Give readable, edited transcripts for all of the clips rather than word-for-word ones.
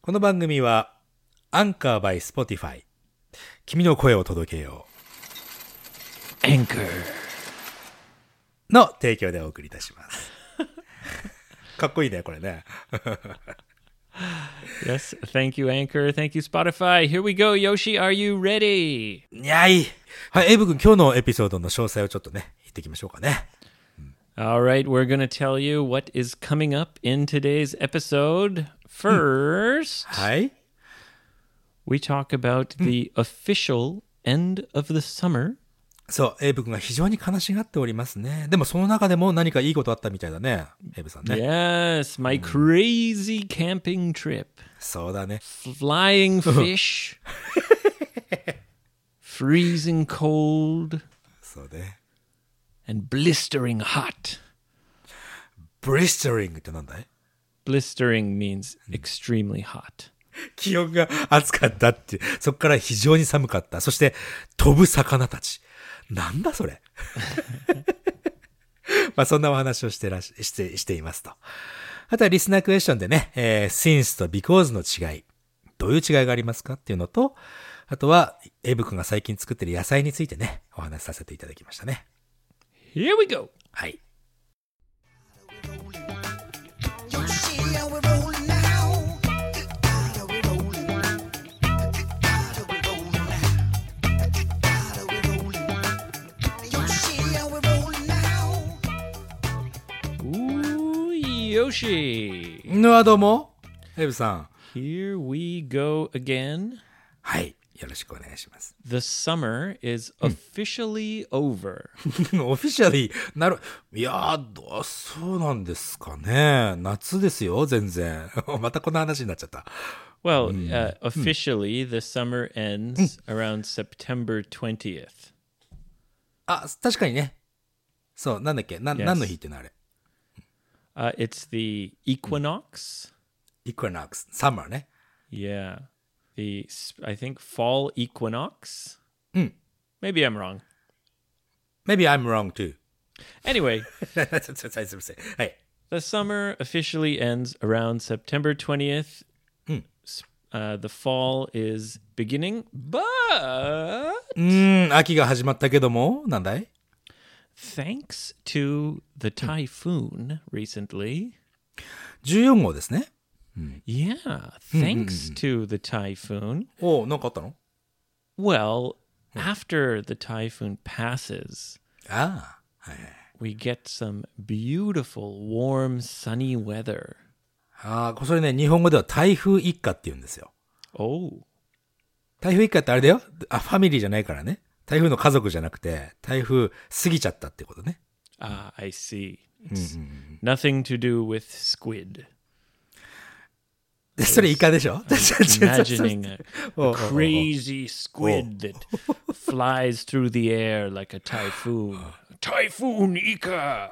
この番組はアンカー by Spotify 君の声を届けよう Anchor の提供でお送りいたしますかっこいいねこれね Yes, thank you, Anchor. Thank you, Spotify. Here we go, Yoshi. Are you ready? にゃい。はい、エイブ君、今日のエピソードの詳細をちょっとね、言っていきましょうかね。 All right, we're going to tell you what is coming up in today's episode. First, はい。 we talk about the official end of the summer. そう、エイブ君が非常に悲しがっておりますね。でもその中でも何かいいことあったみたいだね、エイブさんね。 Yes, my crazy camping trip. そうだね。 Flying fish. Freezing cold. そうね。 And blistering hot. Blistering ってなんだい？ Blistering means extremely hot. 気温が暑かったって、そこから非常に寒かった。そして飛ぶ魚たち。なんだそれまあそんなお話をしていますと。あとはリスナークエスチョンでね、since と because の違い。どういう違いがありますかっていうのと、あとはエイブ君が最近作ってる野菜についてね、お話しさせていただきましたね。 Here we go. はい。 Yoshi. どうも、エイブさん。 Here we go again. はい。よろしくお願いします。 The summer is officially over. オフィシャリー、いやー、そうなんですかね。夏ですよ、全然。またこの話になっちゃった。 Well, officially, the summer ends around September 20th. あ、確かにね。そう、なんだっけ、何の日ってのあれ。 It's the equinox. Equinox, summer ね。 Yeah. I think fall equinox. Maybe I'm wrong. Maybe I'm wrong too. Anyway, すいません。はい。 the summer officially ends around September 20th. The fall is beginning, but 秋が始まったけども、なんだい？ thanks to the typhoon recently. 14号ですね。 Yeah, thanks to the typhoon. お、なんかあったの？ Well, after the typhoon passes, ああ、はい。 we get some beautiful, warm, sunny weather. ああ、それね、日本語では台風一過って言うんですよ。 Oh. 台風一過ってあれだよ。ファミリーじゃないからね。台風の家族じゃなくて、台風過ぎちゃったってことね。 Ah, I see. It's nothing to do with squid. それイカでしょ？ Imagining a crazy squid that flies through the air like a typhoon. Typhoon Ika!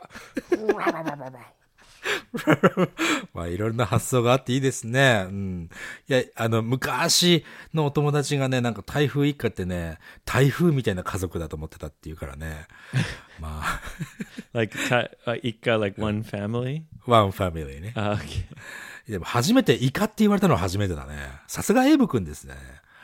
まあいろんな発想があっていいですね。いや、昔のお友達がね、なんか台風一過ってね、台風みたいな家族だと思ってたっていうからね。まあ。 like Ika, like one family? One family ね。 Okay. でも初めてイカって言われたのは初めてだね。さすがエイブ君ですね。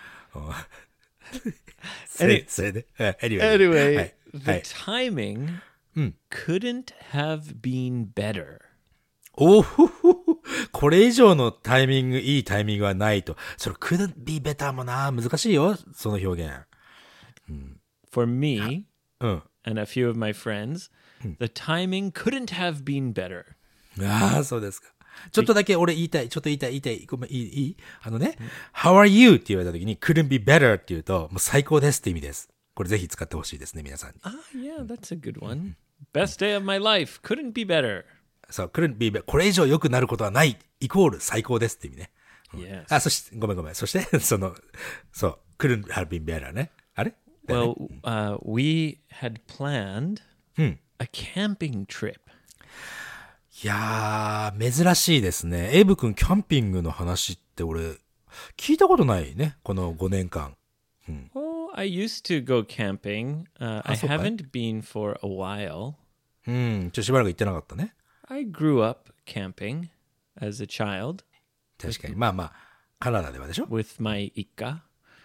それで。 Anyway, the timing couldn't have been better. おほほほ。これ以上のタイミング、いいタイミングはないと。それ couldn't be better もな、難しいよ、その表現。 For me and a few of my friends, the timing couldn't have been better. ああ、そうですか。ちょっとだけ俺言いたい。ごめん、いいHow are you? って言われた時に couldn't be better って言うと、もう最高ですって意味です。これぜひ使ってほしいですね、皆さんに。 Yeah, that's a good one. Best day of my life. Couldn't be better. そう、couldn't be better. これ以上良くなることはない。イコール最高ですって意味ね。 Yes. あ、そして、ごめん。そして、couldn't have been better ね。あれ？ Well, we had planned a camping trip. いやー、珍しいですね。エイブ君、キャンピングの話って俺、聞いたことないね。この5年間。 Oh, I used to go camping. I haven't been for a while. しばらく行ってなかったね。 I grew up camping as a child. 確かに。まあまカナダではでしょ with my Ika.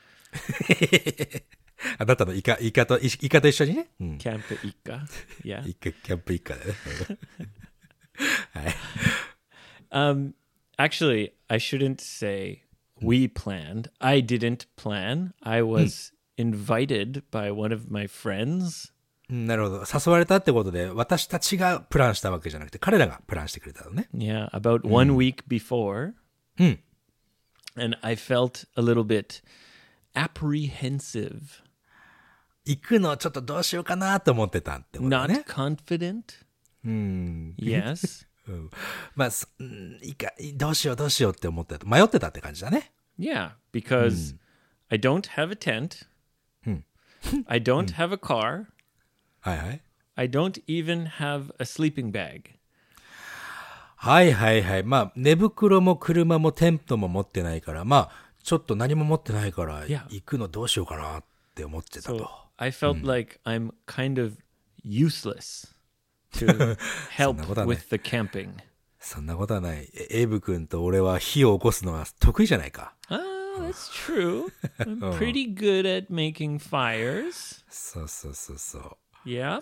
あなたのイカと一緒にね。うん。 Camp Ika. Yeah. キャンプ一家でね。はい。 Actually, I shouldn't say we planned. I didn't plan. I was invited by one of my friends. なるほど。誘われたってことで、私たちがプランしたわけじゃなくて、彼らがプランしてくれたのね。 Yeah, about 1 week before. And I felt a little bit apprehensive. 行くのちょっとどうしようかなと思ってたってことだね。 Not confident. Yes. まあ、どうしようって思ってた。迷ってたって感じだね。 Yeah, because I don't have a tent. I don't have a car. はいはい。 I don't even have a sleeping bag. はいはいはい。まあ、寝袋も車もテントも持ってないから、まあ、ちょっと何も持ってないから、行くのどうしようかなって思ってたと。 So I felt like I'm kind of useless to help with the camping. そんなことはない。エイブ君と俺は火を起こすのは得意じゃないか。 That's trute. I'm pretty good at making fires. そうそうそうそう。 Yep.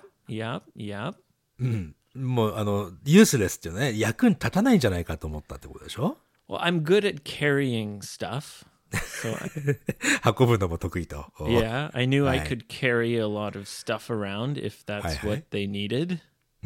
もうユースレスっていうね、役に立たないんじゃないかと思ったってことでしょ Well, I'm good at carrying stuff. So 運ぶのも得意と。 Yeah, I knew I could carry a lot of stuff around if that's what they needed.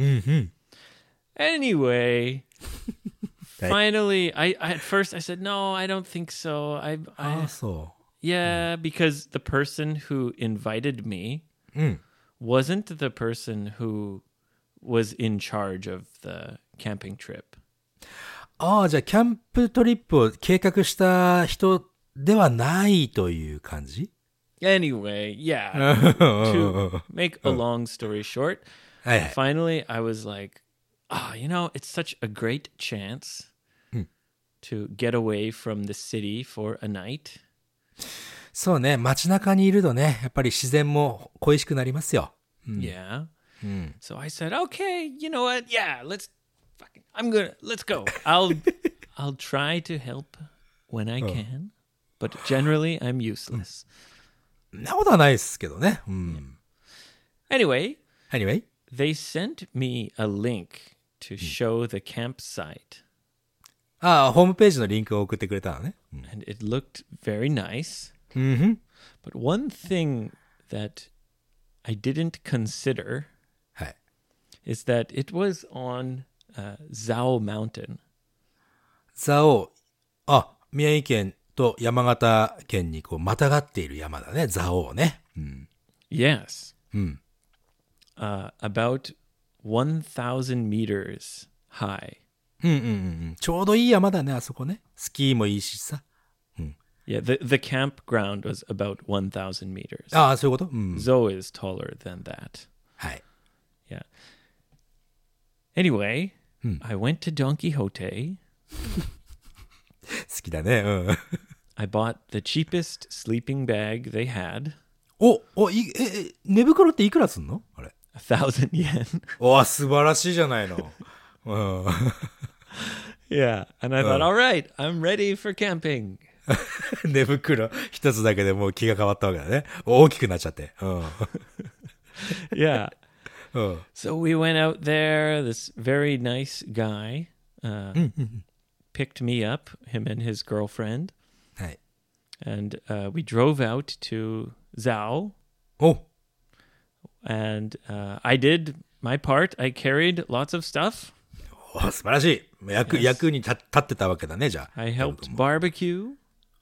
Anyway, finally, at first I said, no, I don't think so. Yeah, because the person who invited me wasn't the person who was in charge of the camping trip. ああ、じゃあキャンプトリップを計画した人ではないという感じ Anyway, yeah. To make a long story short, finally I was like, it's such a great chance to get away from the city for a night. そうね、街中にいるとね、やっぱり自然も恋しくなりますよ。 Yeah. So I said, okay, you know what? Yeah, let's go. I'll try to help when I can, but generally I'm useless. なことはないですけどね。 Anyway, they sent me a link to show the campsite. ああ、ホームページのリンクを送ってくれたのね。 And it looked very nice. But one thing that I didn't consider is that it was on Zhao Mountain. 蔵王、宮城県と山形県にこうまたがっている山だね、蔵王ね。 Yes. About 1,000 meters high. ちょうどいい山だね、あそこね。スキーもいいしさ。 Yeah, the campground was about 1,000 meters. ああ、そういうこと Zoe is taller than that. はい。 Yeah. Anyway, I went to Don Quixote. 好きだね。 I bought the cheapest sleeping bag they had. 寝袋っていくらすんのあれ。 1,000 yen. 素晴らしいじゃないの。 Yeah, and I thought, all right, I'm ready for camping. 寝袋一つだけでもう気が変わったわけだね。大きくなっちゃって。 Yeah. So we went out there. This very nice guy picked me up, him and his girlfriend. はい。 And we drove out to Zhao. And I did my part. I carried lots of stuff. 素晴らしい。役に立ってたわけだね、じゃあ。 I helped barbecue.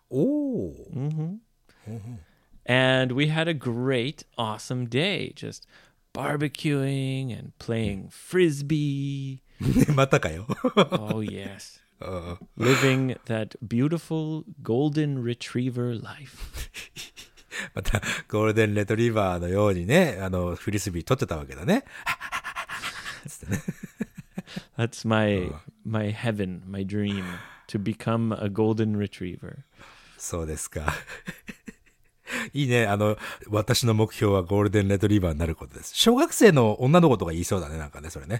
And we had a great, awesome day. Just barbecuing and playing frisbee. またかよ。 Oh, yes. Living that beautiful golden retriever life. また、ゴールデンレトリバーのようにね、フリスビー取ってたわけだね。 That's my heaven, my dream, to become a golden retriever. そうですか。いいね。私の目標はゴールデンレトリバーになることです。小学生の女の子とか言いそうだね、なんかね、それね。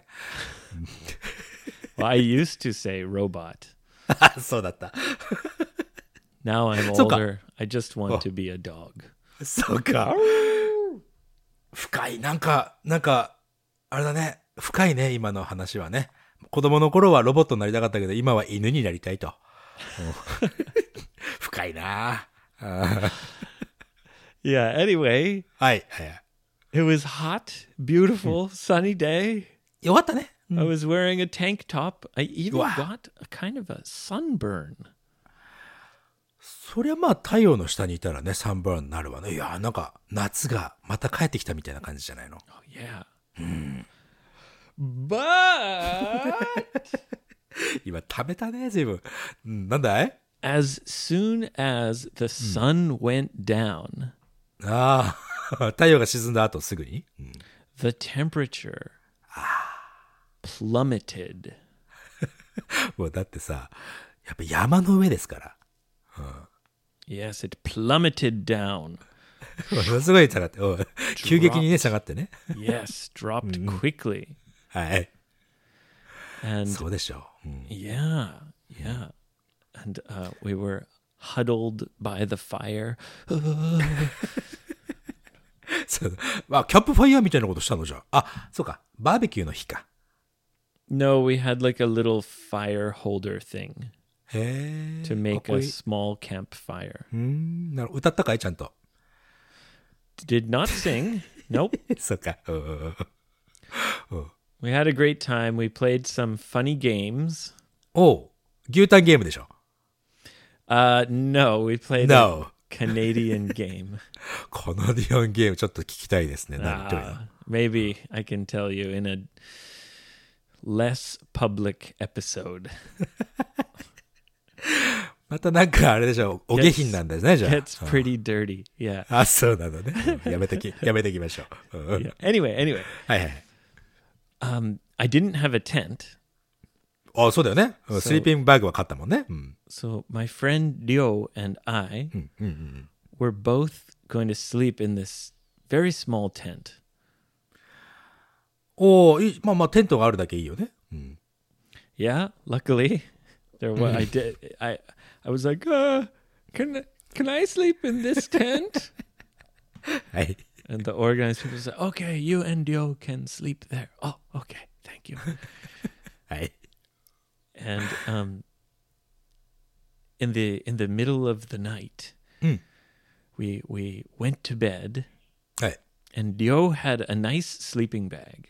Well, I used to say robot. そうだった。 Now I'm older. I just want to be a dog. そうか。深い。なんか、あれだね。深いね、今の話はね。子供の頃はロボットになりたかったけど、今は犬になりたいと。深いな。 Yeah, anyway. はい。 It was hot, beautiful, sunny day. よかったね。 I was wearing a tank top. I even got a kind of a sunburn. そりゃまあ太陽の下にいたらね、サンバーンになるわね。いや、なんか夏がまた帰ってきたみたいな感じじゃないの。 Oh, yeah. But 今食べたね、随分。なんだい as soon as the sun went down, ああ、太陽が沈んだ後すぐに、 the temperature plummeted. もうだってさ、やっぱ山の上ですから。 Yes, it plummeted down. ものすごい下がって、急激にね、下がってね。 Yes, dropped quickly. はい。 And そうでしょう。 yeah. And we were huddled by the fire. そうあ、キャンプファイヤーみたいなことしたのじゃあ。そうか。バーベキューの日か。 No, we had like a little fire holder thing へえ。 to make a small campfire. 歌ったかいちゃんと。 Did not sing. Nope. そうか。 We had a great time. We played some funny games. おう。牛タンゲームでしょ。 No, we played a Canadian game. カナディアンゲームちょっと聞きたいですね。 Maybe I can tell you in a less public episode. またなんかあれでしょ。お下品なんですね、じゃあ。 Gets pretty dirty. Yeah. あ、そうなのね。やめてきましょう。 Yeah. Anyway. はいはい。 I didn't have a tent. あ、そうだよね。スリーピングバッグは買ったもんね。 So my friend Ryo and I were both going to sleep in this very small tent. おー、まあテントがあるだけいいよね。 Yeah, luckily there was. I was like, can I sleep in this tent? はい。 And the organized people said, okay, you and Ryo can sleep there. Oh, okay, thank you. はい。 And in the middle of the night, we went to bed, はい。 and Ryo had a nice sleeping bag.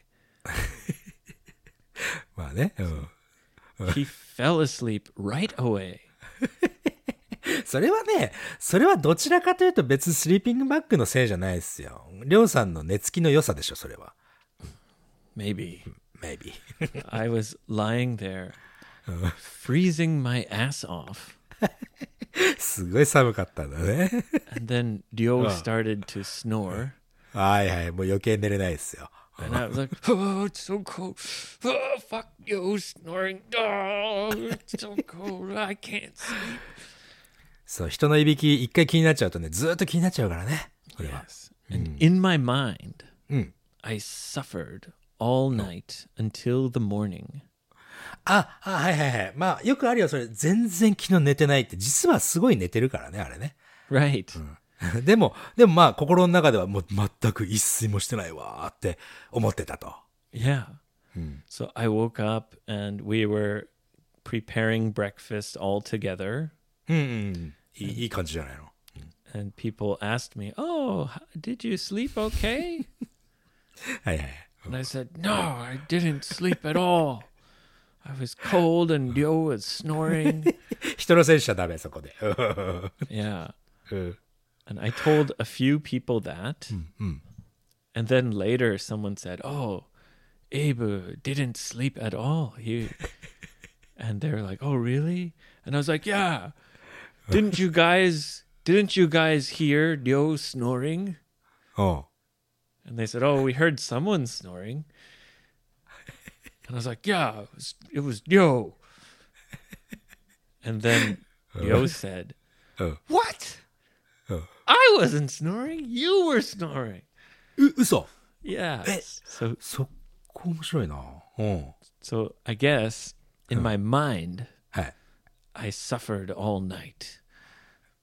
まあね。 He fell asleep right away. それはどちらかというと別にスリーピングバッグのせいじゃないですよ。りょうさんの寝つきの良さでしょ、それは。 Maybe. I was lying there, freezing my ass off. すごい寒かったんだね。 And then Ryo started to snore. はいはい、もう余計寝れないですよ。 And I was like, oh, it's so cold. Oh, fuck you, snoring. Oh, it's so cold. I can't sleep. そう、人のいびき一回気になっちゃうとね、ずっと気になっちゃうからね。 Yes. And in my mind, I suffered all night until the morning. はいはいはい。まあ、よくあるよ、それ。全然昨日寝てないって。実はすごい寝てるからね、あれね。 Right. でもまあ、心の中ではもう全く一睡もしてないわーって思ってたと。 Yeah. So I woke up and we were preparing breakfast all together. いい感じじゃないの。 And people asked me, oh, did you sleep okay? はいはい。 And I said, no, I didn't sleep at all. I was cold and Ryo was snoring. 人のせいにしちゃダメ、そこで。 Yeah. And I told a few people that. And then later someone said, oh, Abe didn't sleep at all. And they were like, oh, really? And I was like, yeah. Didn't you guys hear Ryo snoring? Oh. And they said, oh, we heard someone snoring. And I was like, yeah, it was Ryo. And then Ryo said, what? I wasn't snoring. You were snoring. 嘘 Yeah. そこ面白いな。 So I guess in my mind, はい。 I suffered all night.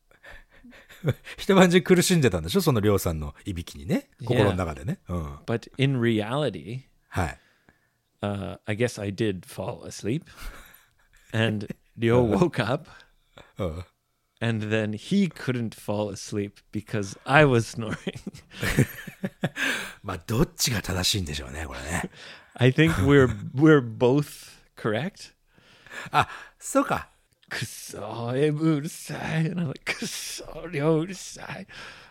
一晩中苦しんでたんでしょそのりょうさんのいびきにね。心の中でね。うん。 But in reality, はい。 I guess I did fall asleep. And Ryo woke up. And then he couldn't fall asleep because I was snoring. まあ、どっちが正しいんでしょうね、これね。 I think we're both correct. あ、そうか。 くそ、うるさい。And I'm like, くそ、りょうるさい。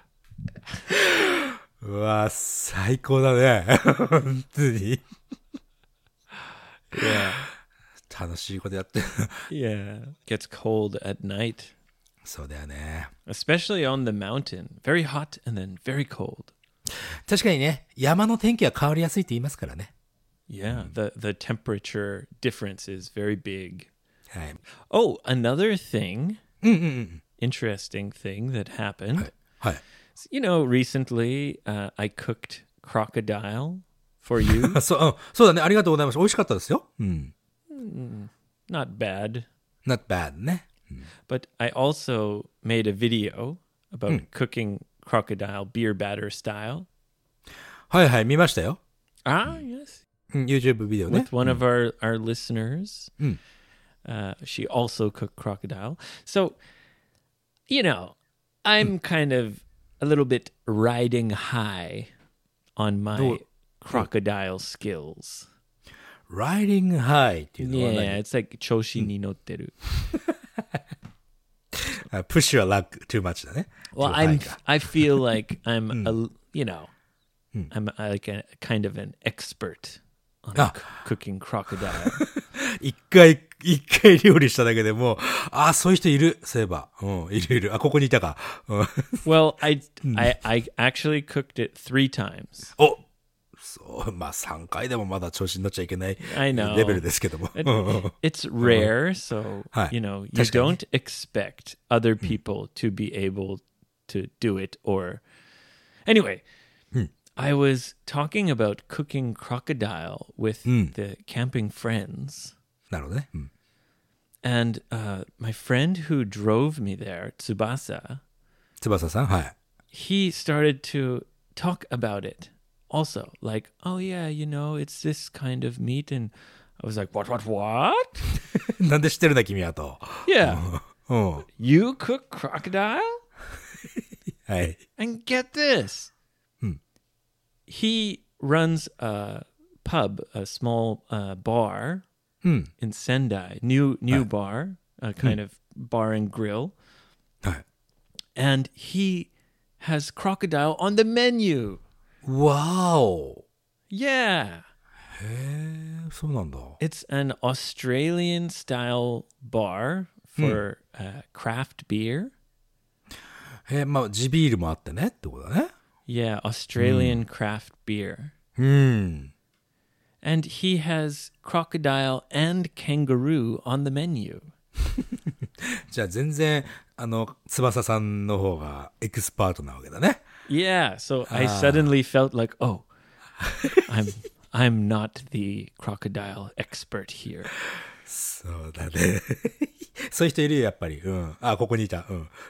うわ、最高だね。本当に。 Yeah. 楽しいことやってる。 Yeah. Gets cold at night. そうだよね。 Especially on the mountain. Very hot and then very cold. 確かにね、山の天気は変わりやすいって言いますからね。 Yeah, the temperature difference is very big. はい。 Oh, another thing, interesting thing that happened. はい。はい。 You know, recently I cooked crocodile for you. そうだね。ありがとうございます。美味しかったですよ。うん。 Not bad. Not bad ね。 But I also made a video about cooking crocodile beer batter style. はいはい、見ましたよ。 Ah, yes. YouTube ビデオね。 With one of our listeners. She also cooked crocodile. So, you know, I'm kind of a little bit riding high on my crocodile skills. Riding high っていうのは何？ Yeah, it's like 調子に乗ってる。 Push your luck too much だね。 Well, I feel like I'm I'm like a kind of an expert on cooking crocodile. 一回料理しただけでもう、そういう人いる。そういえば。いる。ここにいたか。 Well, I actually cooked it 3 times. そう、まあ3回でもまだ調子に乗っちゃいけない I know. レベルですけども。 It's rare, so, you know, you don't expect other people to be able to do it or... Anyway, I was talking about cooking crocodile with the camping friends. なるほどね。 And my friend who drove me there, Tsubasa, 翼さん、はい。 he started to talk about it also. Like, oh yeah, you know, it's this kind of meat. And I was like, what? なんで知ってるんだ、君はと。 Yeah. You cook crocodile? はい。 And get this. He runs a pub, a small bar in Sendai, new bar, a kind of bar and grill. はい。 And he has crocodile on the menu. Wow. Yeah. へえ、そうなんだ。 It's an Australian style bar for craft beer. まあ、地ビールもあってねってことだね。 Yeah, Australian craft beer. And he has crocodile and kangaroo on the menu. じゃあ全然、翼さんの方がエキスパートなわけだね。 Yeah, so I suddenly felt like, oh, I'm not the crocodile expert here. そうだね。そういう人いるよ、やっぱり。ここにいた。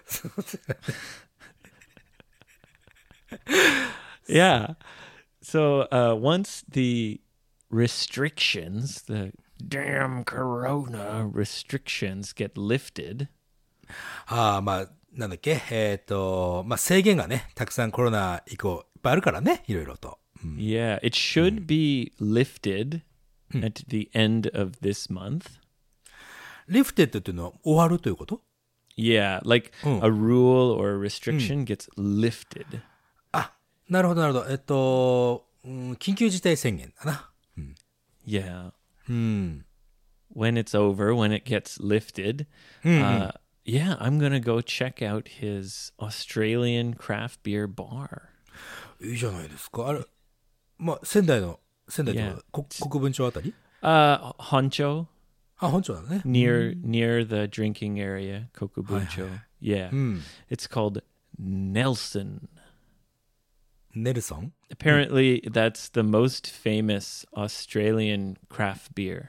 Yeah. So once the restrictions, the damn corona restrictions get lifted. まあ、なんだっけまあ制限がね、たくさんコロナ以降いっぱいあるからね、いろいろと。 Yeah, it should be lifted at the end of this month. Lifted っていうのは終わるということ？ Yeah, like a rule or a restriction gets lifted. なるほど、なるほど。緊急事態宣言だな。 Yeah. When it's over, when it gets lifted, yeah, I'm going to go check out his Australian craft beer bar. いいじゃないですか。あれ、まあ、仙台って国分町あたり Honcho. 本町だね。 Near the drinking area, Kokubuncho. Yeah. It's called Nelson. Nelson? Apparently, that's the most famous Australian craft beer.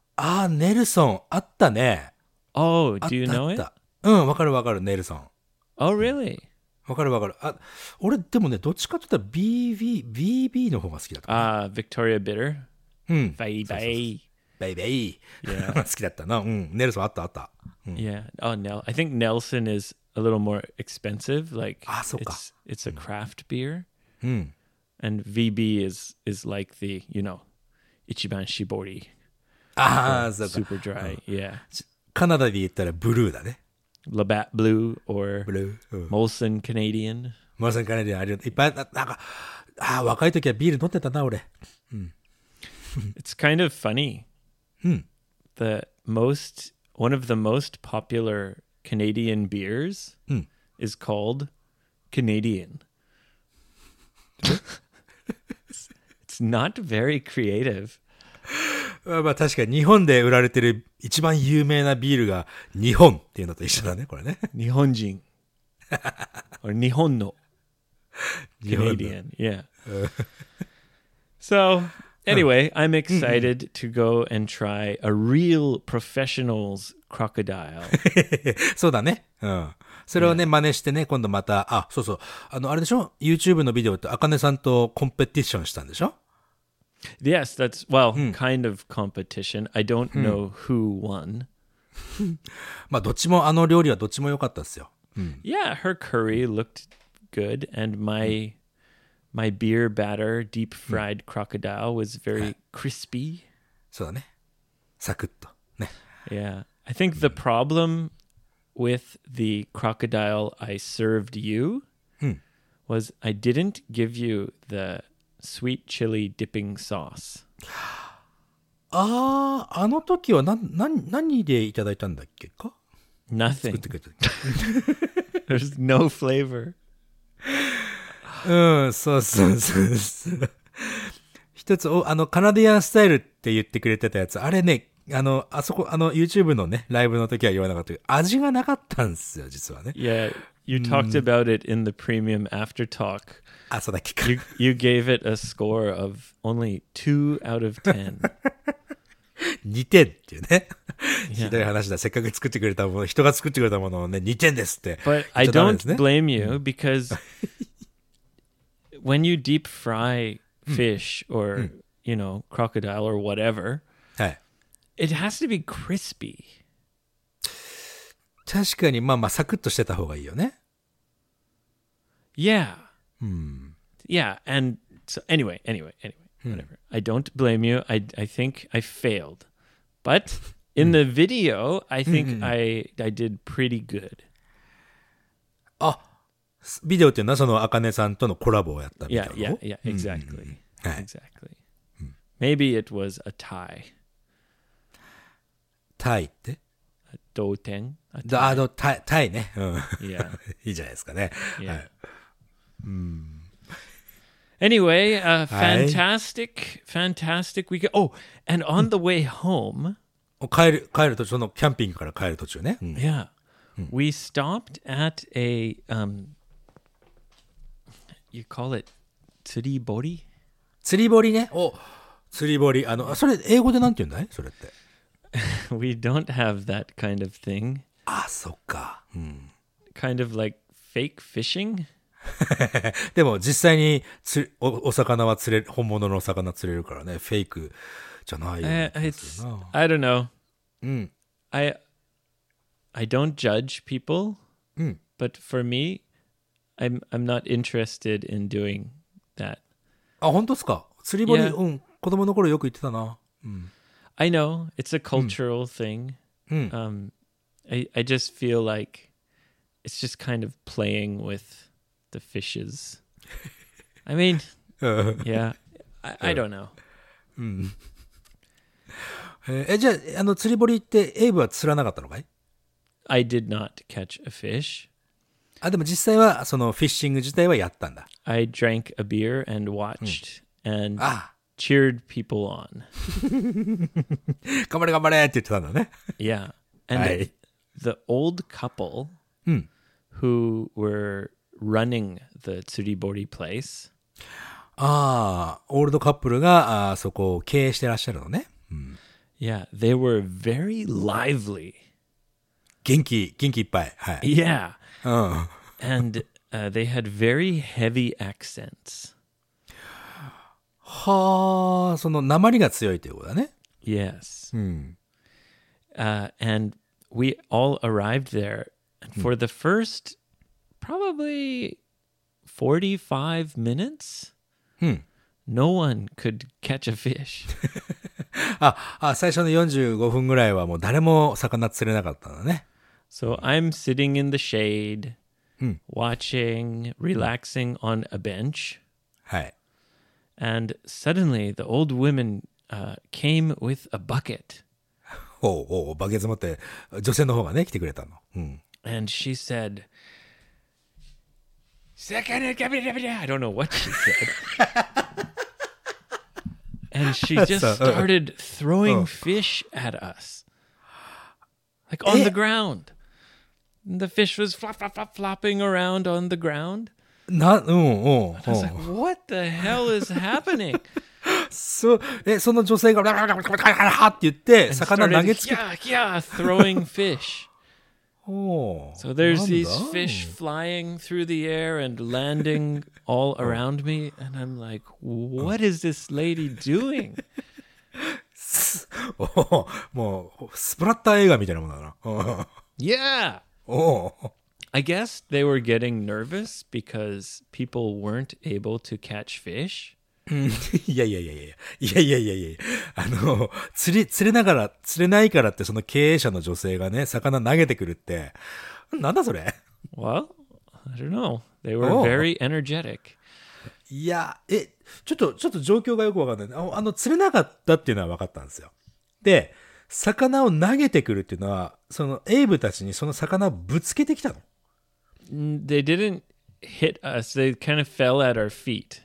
ネルソン。あったね。 Oh, do you know it? わかる、ネルソン。 Oh, really? わかるわかる。あ、俺でもね、どっちかって言ったら BB の方が好きだった。 Victoria Bitter? うん。 バイバイ。 バイバイ。 Yeah. 好きだったな。うん。ネルソンあったあった。 Yeah. Oh, I think Nelson is a little more expensive. Like, そうか。 it's a craft beer. うん。 And VB is like the, Ichiban Shibori. そうか。 Super dry. Yeah. カナダで言ったらブルーだね。 Labatt Blue or ブルー。 Molson Canadian. モーセンカナディアンあるいっぱい、なんか、若い時はビール飲ってたな、俺。 It's kind of funny. One of the most popular Canadian beers is called Canadian. It's not very creative. まあ確かに日本で売られてる一番有名なビールが日本っていうのと一緒だね、これね。 日本人。or 日本の Canadian. Yeah. So, anyway, I'm excited to go and try a real professional's crocodile. そうだね。うん。それをね、真似してね、今度また、そうそう。あれでしょ ?YouTube のビデオってあかねさんとコンペティションしたんでしょ Yes, that's, kind of competition. I don't know who won. まあ、どっちも、料理はどっちも良かったですよ。 Yeah, her curry looked good, and my beer batter, deep fried crocodile, was very crispy. そうだね。サクッと。ね。 Yeah. I think the problem with the crocodile I served you was I didn't give you the sweet chili dipping sauce. あの時は何でいただいたんだっけか Nothing. There's no flavor. そう。一つ、カナディアンスタイルって言ってくれてたやつ、あれね、あそこ、YouTube のね、ライブの時は言わなかったけど、味がなかったんですよ、実はね。 Yeah, you talked about it in the premium after talk. そうだっけか。 You gave it a score of only 2 out of 10. 2点っていうね。ひどい話だ。せっかく作ってくれたもの、人が作ってくれたものをね、2点ですって。 But I don't blame you because when you deep fry fish or, crocodile or whatever, はい。 it has to be crispy. 確かに、まあ、サクッとしてた方がいいよね。 Yeah. Yeah, and so anyway, whatever. I don't blame you. I think I failed. But in the video, I think I did pretty good. ビデオっていうのはそのあかねさんとのコラボをやったみたいな。 Yeah, exactly. Exactly. Maybe it was a tie. タイって同点タイね。 Yeah. いいじゃないですかね。 Yeah. はい。 Anyway, fantastic weekend. Oh, and on the way home. 帰る途中、そのキャンピングから帰る途中ね。 Yeah. We stopped at a, you call it 釣り堀？ 釣り堀ね。釣り堀。それ、英語でなんて言うんだいそれって。 We don't have that kind of thing. そっか。 Kind of like fake fishing? でも実際にお魚は本物のお魚釣れるからね。フェイクじゃないよね。 I don't know. I don't judge people, but for me, I'm not interested in doing that. 本当ですか釣り堀、子供の頃よく言ってたな。 I know, it's a cultural thing. I just feel like it's just kind of playing with the fishes. I mean, yeah, I don't know. じゃあ、釣り堀ってエイブは釣らなかったのかい？ I did not catch a fish. でも実際はそのフィッシング自体はやったんだ。 I drank a beer and watched and cheered people on. 頑張れ頑張れって言ってたんだね。 Yeah. And the old couple who were running the Tsuribori place. オールドカップルがそこを経営してらっしゃるのね。 Yeah, they were very lively. 元気いっぱい。はい。 Yeah. And they had very heavy accents. はあ、その訛りが強いということだね。 Yes. And we all arrived there. And for the first probably 45 minutes, no one could catch a fish. 最初の45分ぐらいはもう誰も魚釣れなかったんだね。 So I'm sitting in the shade, watching, relaxing on a bench. はい。 And suddenly the old woman came with a bucket. バケツ持って女性の方がね来てくれたの。 And she said, I don't know what she said. And she just started throwing fish at us. Like on the ground. And the fish was flopping around on the ground. I was like, what the hell is happening? その女性がって言って魚投げつけ throwing fish. So there's these fish flying through the air and landing all around me, and I'm like, what is this lady doing? もうスプラッター映画みたいなものだな。 Yeah. I guess they were getting nervous because people weren't able to catch fish. いや。釣れないからってその経営者の女性がね、魚投げてくるって、なんだそれ Well, I don't know. They were very energetic. いや、ちょっと状況がよくわかんない。釣れなかったっていうのは分かったんですよ。で、魚を投げてくるっていうのは、そのエイブたちにその魚をぶつけてきたの。 They didn't hit us. They kind of fell at our feet.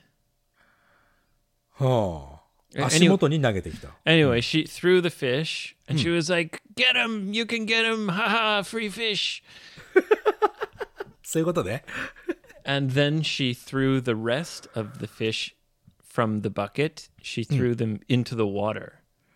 足元に投げてきた。 Anyway, she threw the fish and she was like, "Get him! You can get him! Haha, free fish!" そういうことね。 And then she threw the rest of the fish from the bucket. She threw them into the water.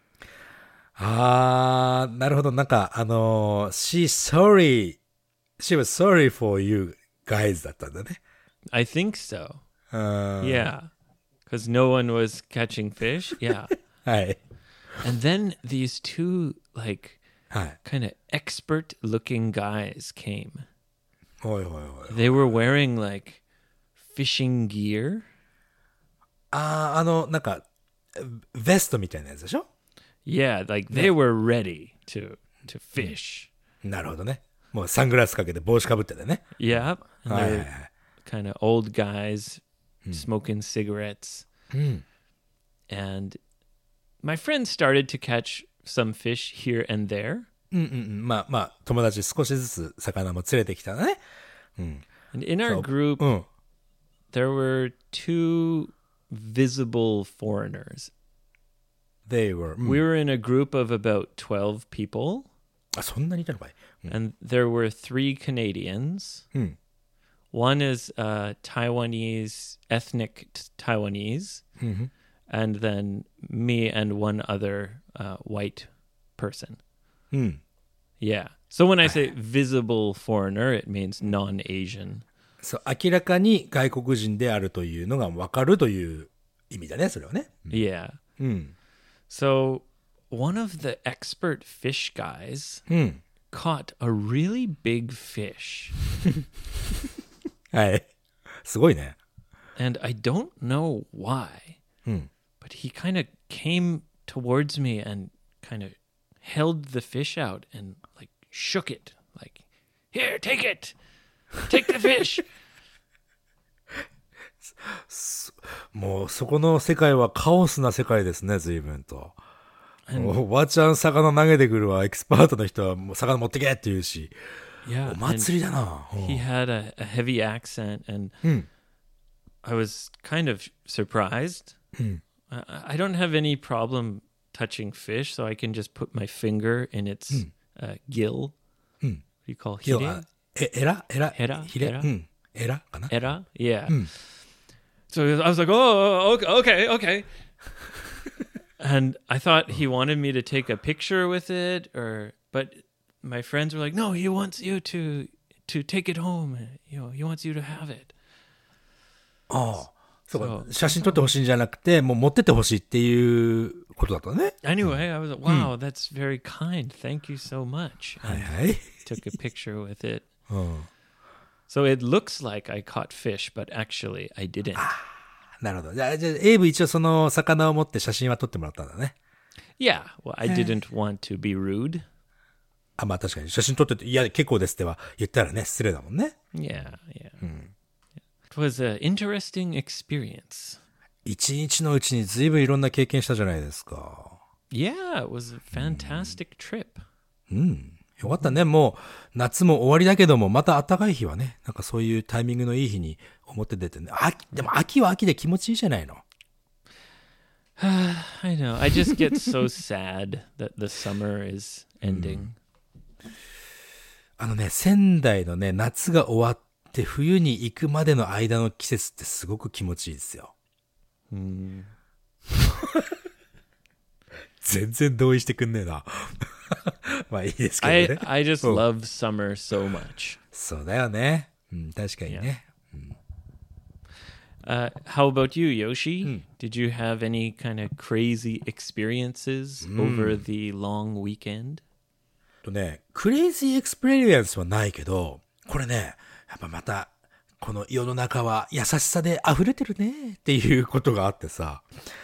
なるほど。なんかshe was sorry for you guys だったんだね。 I think so. Yeah. Because no one was catching fish. Yeah. はい。 And then these two, like, kind of expert looking guys came. They were wearing, like, fishing gear. なんか、ベストみたいなやつでしょ Yeah, like, they were ready to fish. なるほどね。もうサングラスかけて帽子かぶっててね。 Yeah. And they're kind of old guys smoking cigarettes. And my friends started to catch some fish here and there. まあ、友達少しずつ魚も連れてきたね。 And in our group, there were two visible foreigners. We were in a group of about 12 people. そんなにいたのかい。 And there were 3 Canadians. One is Taiwanese, ethnic Taiwanese. And then me and one other white person. Yeah. So when I say visible foreigner, it means non-Asian. そう、明らかに外国人であるというのが分かるという意味だね、それはね。 Yeah. So one of the expert fish guys caught a really big fish. はい。すごいね。 And I don't know why, but he kind of came towards me and kind of held the fish out and like shook it. Like, here, take it. Take the fish. もうそこの世界はカオスな世界ですね、随分と。おばちゃん魚投げてくるわ、エキスパートの人はもう魚持ってけって言うし。 Yeah, お祭りだな。 He had a heavy accent and I was kind of surprised. I don't have any problem touching fish, so I can just put my finger in its gill. What do you call it? エラヒレ Era? エラかな Era? Yeah. So I was like, oh, okay. And I thought he wanted me to take a picture with it, but my friends were like, no, he wants you to to take it home. He wants you to have it. ああ、そうか。写真撮ってほしいんじゃなくて、もう持ってってほしいっていうことだったね。 Anyway, I was like, wow, that's very kind. Thank you so much. はいはい。 Took a picture with it. So it looks like I caught fish, but actually I didn't. なるほど。じゃあ、エイブ一応その魚を持って写真は撮ってもらったんだね。 Yeah, well, I didn't want to be rude. あ、まあ確かに写真撮ってて、いや、結構ですっては言ったらね、失礼だもんね。 Yeah. It was an interesting experience. 一日のうちに随分いろんな経験したじゃないですか。 Yeah, it was a fantastic trip. よかったね。もう夏も終わりだけども、また暖かい日はね、なんかそういうタイミングのいい日に表出てね。でも秋は秋で気持ちいいじゃないの。 I know. I just get so sad that the summer is ending. 仙台のね、夏が終わって冬に行くまでの間の季節ってすごく気持ちいいですよ。全然同意してくんねえな。まあいいですけどね。 I just love summer so much. そうだよね。確かにね。 How about you, Yoshi? Did you have any kind of crazy experiences over the long weekend? クレイジーエクスペリエンスはないけど、これね、やっぱまた、この世の中は優しさで溢れてるねっていうことがあってさ、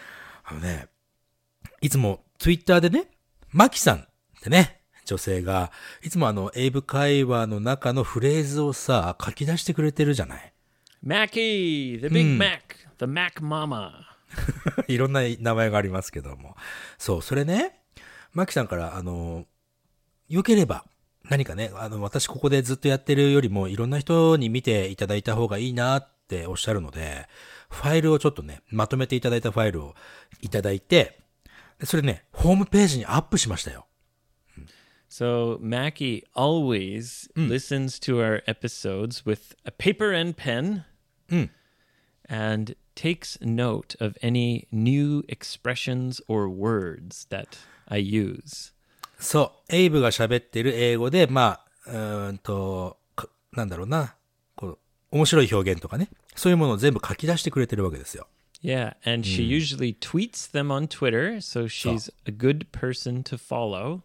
いつもツイッターでね、マキさんってね、女性が、いつも英語会話の中のフレーズをさ、書き出してくれてるじゃない。 Mackie, the big Mac, the Mac Mama. いろんな名前がありますけども。そう、それね、マキさんから、良ければ、何かね、私ここでずっとやってるよりも、いろんな人に見ていただいた方がいいなっておっしゃるので、ファイルをちょっとね、まとめていただいたファイルをいただいて、それね、ホームページにアップしましたよ。 So Mackie always listens to our episodes with a paper and pen and takes note of any new expressions or words that I use. そう、エイブが喋ってる英語で、まあ、なんだろうな、こう、面白い表現とかね、そういうものを全部書き出してくれてるわけですよ。 Yeah, and she usually tweets them on Twitter, so she's a good person to follow.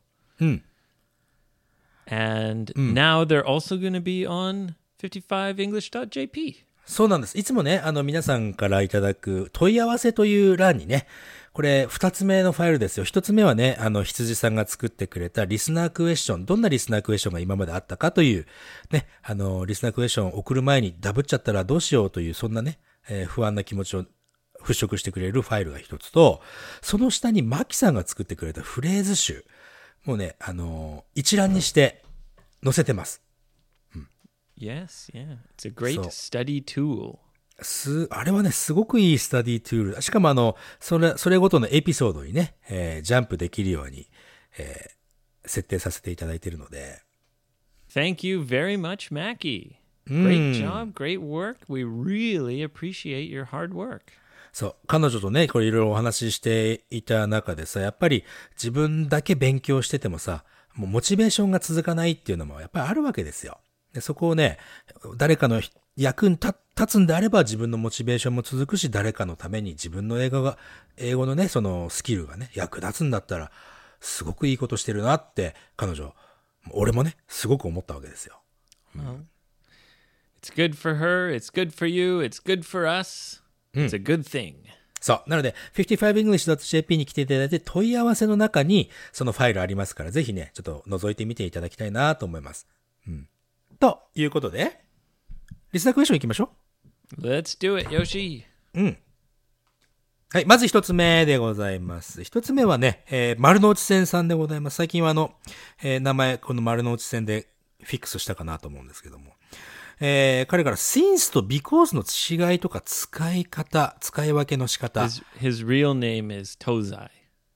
And now they're also going to be on 55english.jp. そうなんです。いつもね、皆さんからいただく問い合わせという欄にね、これ二つ目のファイルですよ。一つ目はね、羊さんが作ってくれたリスナークエスチョン、どんなリスナークエスチョンが今まであったかという、ね、リスナークエスチョンを送る前にダブっちゃったらどうしようという、そんなね、不安な気持ちを払拭してくれるファイルが一つと、その下にマキさんが作ってくれたフレーズ集。もうね、一覧にして載せてます。 Yes, yeah. It's a great study tool. あれはね、すごくいいスタディトゥール。しかもそれごとのエピソードにね、ジャンプできるように、設定させていただいているので。 Thank you very much, Mackie. Great job, great work. We really appreciate your hard work. そう。彼女とね、これいろいろお話ししていた中でさ、やっぱり自分だけ勉強しててもさ、もうモチベーションが続かないっていうのもやっぱりあるわけですよ。でそこをね、誰かの役に立つんであれば自分のモチベーションも続くし、誰かのために自分の英語のね、そのスキルがね、役立つんだったら、すごくいいことしてるなって、俺もね、すごく思ったわけですよ。 It's good for her, it's good for you, it's good for us, it's a good thing. そう。なので、55english.jp に来ていただいて、問い合わせの中にそのファイルありますから、ぜひね、ちょっと覗いてみていただきたいなと思います。ということで、リスナークエスチョン行きましょう。Let's do it, Yoshi. はい、まず一つ目でございます。一つ目はね、丸の内線さんでございます。最近は名前、この丸の内線でフィックスしたかなと思うんですけども。彼から since と because の違いとか使い分けの仕方。 His real name is Tozai.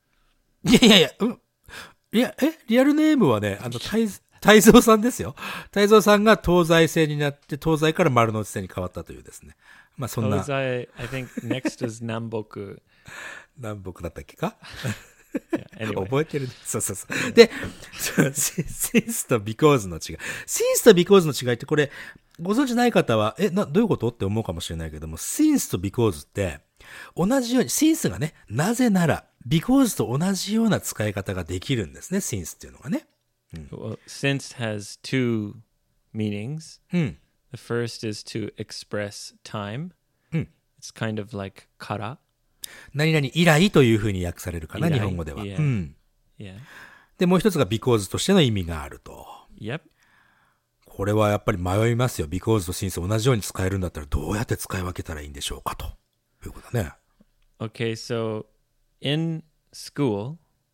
リアルネームはね、泰造さんですよ。泰造さんが東西線になって、東西から丸の内線に変わったというですね。まあそんな。 東西、I think next is 南北。 南北だったっけか Anyway. 覚えてるね。そうそうそう。で、since と because の違い。since と because の違いってこれ、ご存知ない方は、どういうことって思うかもしれないけども、since と because って、同じように、since がね、なぜなら、because と同じような使い方ができるんですね、since っていうのがね。 Well, since has two meanings. The first is to express time. It's kind of like から。 何々以来というふうに訳されるかな、日本語では。 Yeah. で、もう一つが because としての意味があると。 Yep. これはやっぱり迷いますよ。because と since 同じように使えるんだったらどうやって使い分けたらいいんでしょうかということだね。 Okay, so in school,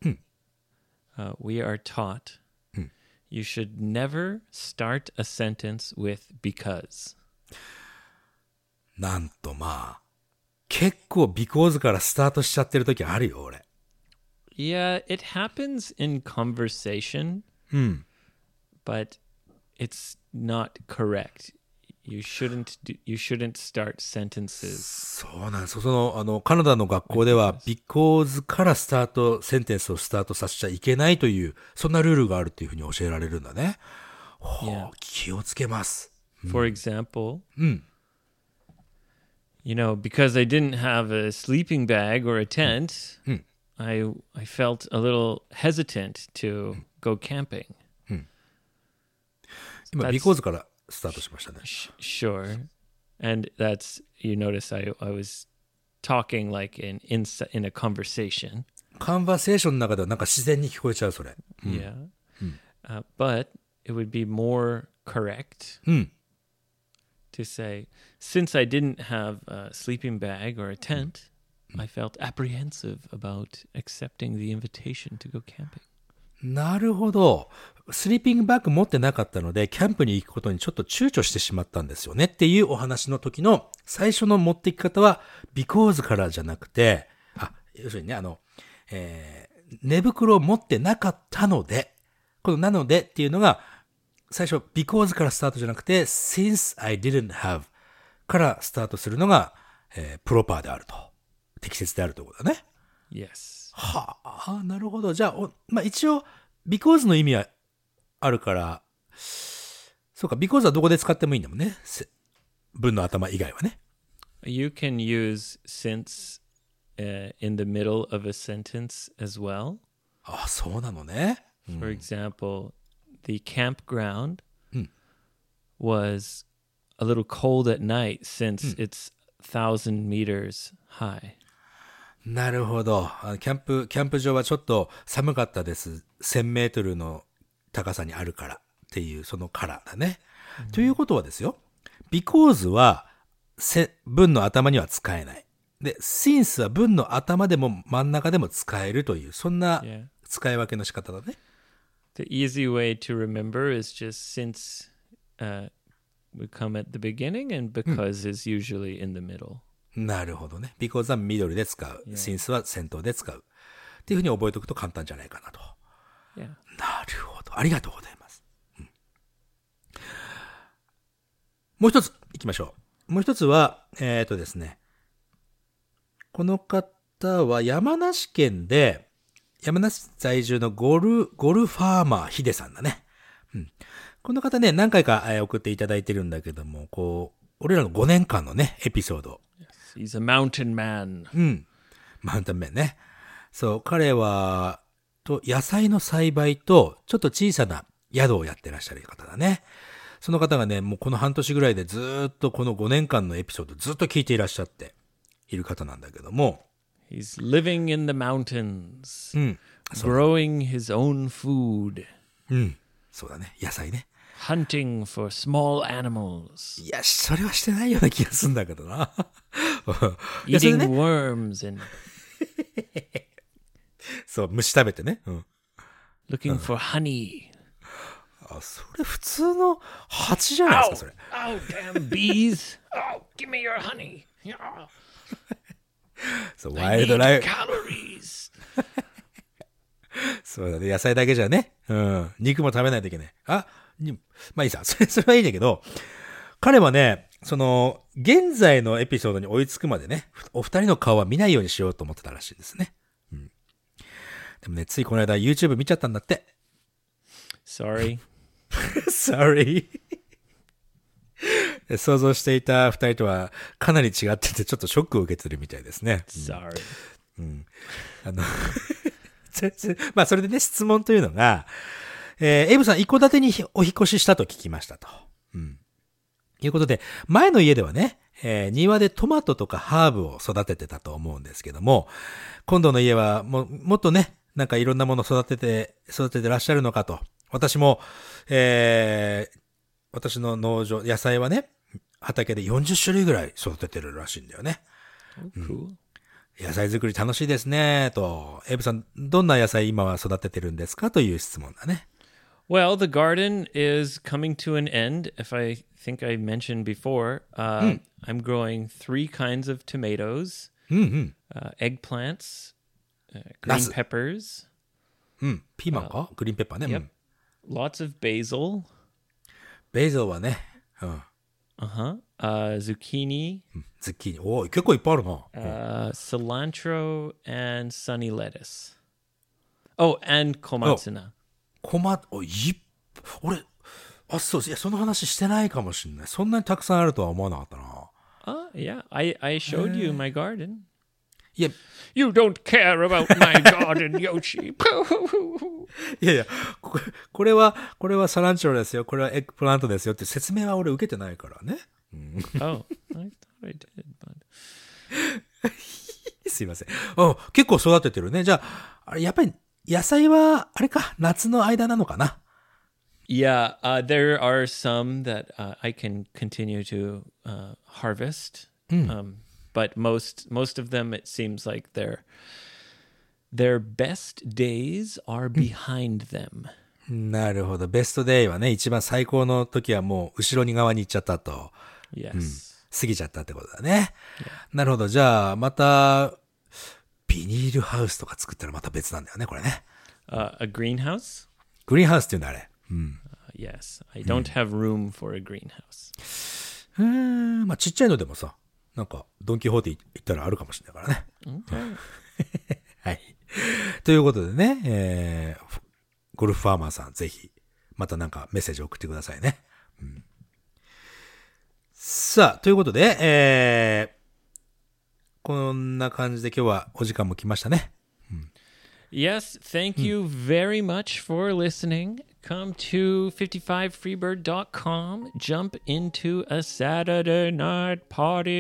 we are taught you should never start a sentence with because. なんとまあ、結構 because からスタートしちゃってる時あるよ、俺。 Yeah, it happens in conversation, but it's not correct. You shouldn't start sentences. そうなんです。カナダの学校では because からセンテンスをスタートさせちゃいけないという、そんなルールがあるっていうふうに教えられるんだね。気をつけます。 For example, you know, because I didn't have a sleeping bag or a tent, I felt a little hesitant to go camping. 今、because からスタートしましたね。 Sure. And that's, you notice I was talking like in a conversation. カンバセーションの中ではなんか自然に聞こえちゃう、それ。 Yeah. But it would be more correct to say, since I didn't have a sleeping bag or a tent, I felt apprehensive about accepting the invitation to go camping. なるほど。スリーピングバッグ持ってなかったので、キャンプに行くことにちょっと躊躇してしまったんですよねっていうお話の時の最初の持っていき方は、because からじゃなくて、要するにね、寝袋を持ってなかったので、このなのでっていうのが、最初 because からスタートじゃなくて、since I didn't have からスタートするのが、プロパーであると。適切であるということだね。 Yes. はあ、なるほど。じゃあ、まあ、一応、because の意味はあるから、そうか、because はどこで使ってもいいんだもんね。文の頭以外はね。 You can use since in the middle of a sentence as well. あ、そうなのね。 For example, the campground was a little cold at night since it's 1,000 meters high. なるほど。キャンプ場はちょっと寒かったです。1000メートルの高さにあるからっていう、そのからだね。ということはですよ。because は文の頭には使えない。で、since は文の頭でも真ん中でも使えるという、そんな使い分けの仕方だね。 The easy way to remember is just since would come at the beginning and because is usually in the middle. なるほどね。because はミドルで使う。since は先頭で使う。っていうふうに覚えておくと簡単じゃないかなと。 Yeah. なるほど。ありがとうございます。もう一つ行きましょう。もう一つは、ですね。この方は山梨県で、山梨在住のゴルファーマーヒデさんだね。この方ね、何回か送っていただいてるんだけども、俺らの5年間のね、エピソード。 He's a mountain man. マウンテンメンね。そう、彼は、野菜の栽培と、ちょっと小さな宿をやってらっしゃる方だね。その方がね、もうこの半年ぐらいでずっとこの5年間のエピソードずっと聞いていらっしゃっている方なんだけども。 He's living in the mountains. Growing his own food. そうだね。野菜ね。 Hunting for small animals. いや、それはしてないような気がするんだけどな。 Eating worms and そう、虫食べてね。 looking for honey. それ普通の蜂じゃないですか、それ。 Oh, damn bees. Oh, give me your honey. そう、ワイルドライフ。 Calories. そうだね。野菜だけじゃね。肉も食べないといけない。まあいいさ。それはいいんだけど、彼はね、現在のエピソードに追いつくまでね、お二人の顔は見ないようにしようと思ってたらしいですね。 でもね、ついこの間 YouTube 見ちゃったんだって。 Sorry. Sorry. 想像していた二人とはかなり違ってて、ちょっとショックを受けてるみたいですね。 Sorry. うん。まあ、それでね、質問というのが、エイブさん、一戸建てにお引越ししたと聞きましたと。うん。いうことで、前の家ではね、庭でトマトとかハーブを育ててたと思うんですけども、今度の家はもっとね、なんかいろんなもの育ててらっしゃるのかと。私も、私の農場、野菜はね、畑で40種類ぐらい育ててるらしいんだよね。 Cool. 野菜作り楽しいですね、と。エイブさん、どんな野菜今は育ててるんですかという質問だね。 Well, the garden is coming to an end. If I think I mentioned before, I'm growing 3 kinds of tomatoes, eggplants, green peppers. ピーマンかグリーンペッパーね。 Yep. Lots of basil. ベイゾーはね。 Zucchini. ズッキーニ。おー、結構いっぱいあるな。 Cilantro and sunny lettuce. Oh, and komatsuna. 俺、そう、いや、その話してないかもしれない。そんなにたくさんあるとは思わなかったな。 Yeah. I showed you my garden. いや、 You don't care about my garden, Yoshi. いや、これはサランチョロですよ。これはエッグプラントですよって説明は俺受けてないからね。 Oh, I thought I did, but... すいません。結構育ててるね。じゃあ、やっぱり野菜は、あれか、夏の間なのかな。 Yeah, there are some that I can continue to harvest. But most of them, it seems like their best days are behind them. なるほど。ベストデイはね、一番最高の時はもう後ろに側に行っちゃったと。 Yes. 過ぎちゃったってことだね。なるほど。じゃあ、また、ビニールハウスとか作ったらまた別なんだよね、これね。 A greenhouse? グリーンハウスっていうんだ、あれ。 Yes. I don't have room for a greenhouse. まあちっちゃいのでもさ、なんか、ドンキホーテ行ったらあるかもしれないからね。 Okay. はい。ということでね、ゴルフファーマーさん、ぜひ、またなんかメッセージ送ってくださいね。さあ、ということで、こんな感じで今日はお時間も来ましたね。 Yes, thank you very much for listening. Come to 55freebird.com. Jump into a Saturday night party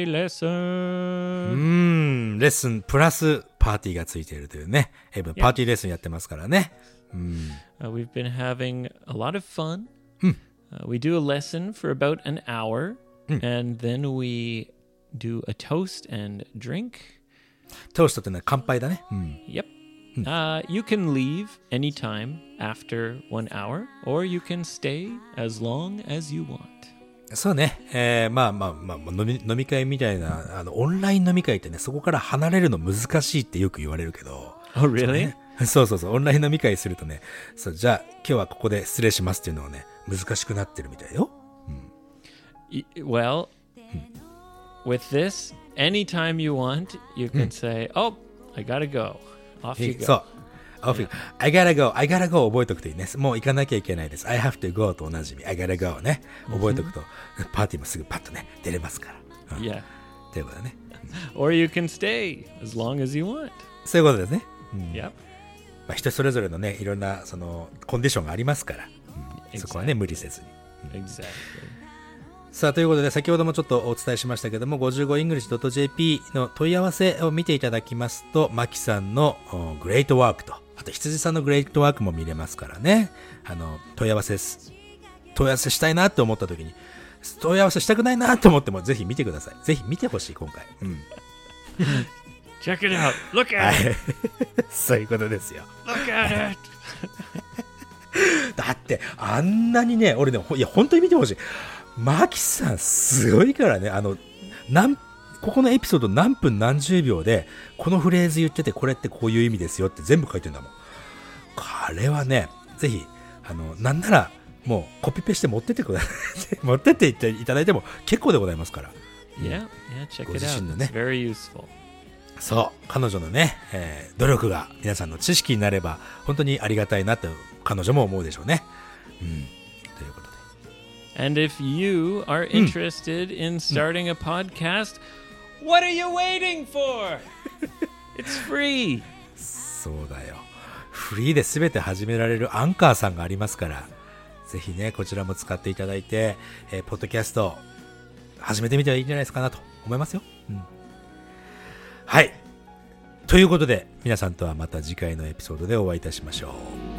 lesson. レッスンプラスパーティーがついているというね。パーティーレッスンやってますからね。 We've been having a lot of fun. We do a lesson for about an hour, and then we do a toast and drink. トーストってのは乾杯だね。 Yep.You can leave anytime after 1 hour, or you can stay as long as you want. そうね。まあ、飲み会みたいな、オンライン飲み会ってね、そこから離れるの難しいってよく言われるけど。 Oh, really? そう。オンライン飲み会するとね、じゃあ、今日はここで失礼しますっていうのはね、難しくなってるみたいよ。 Well, with this, anytime you want, you can say, oh, I gotta go.Off you go. そう。I gotta go 覚えとくといいね。もう行かなきゃいけないです。I have to go と同じ意味。I gotta go ね。覚えとくと、パーティーもすぐパッとね、出れますから。 Yeah. ということだね。 Or you can stay as long as you want. そういうことですね。 Yep. まあ、人それぞれのね、いろんな、コンディションがありますから。そこはね、無理せずに。 Exactly. さあ、ということで、先ほどもちょっとお伝えしましたけども、55english.jp の問い合わせを見ていただきますと、マキさんのグレートワークと、あと羊さんのグレートワークも見れますからね。問い合わせしたいなって思った時に、問い合わせしたくないなって思っても、ぜひ見てください。ぜひ見てほしい、今回。 Check it out. Look at it. そういうことですよ。 Look at it. だって、あんなにね、俺ね、いや、本当に見てほしい。マキさんすごいからね、ここのエピソード何分何十秒でこのフレーズ言っててこれってこういう意味ですよって全部書いてんだもん。これはね、ぜひなんならもうコピペして持ってってください。持ってっていただいても結構でございますから。 Yeah, check it out. It's very useful. そう、彼女のね、努力が皆さんの知識になれば本当にありがたいなって彼女も思うでしょうね。ということで。 And if you are interested in starting a podcast, what are you waiting for? It's free. そうだよ。フリーで全て始められるアンカーさんがありますから、ぜひね、こちらも使っていただいて、ポッドキャスト始めてみてはいいんじゃないですかなと思いますよ。はい。ということで、皆さんとはまた次回のエピソードでお会いいたしましょう。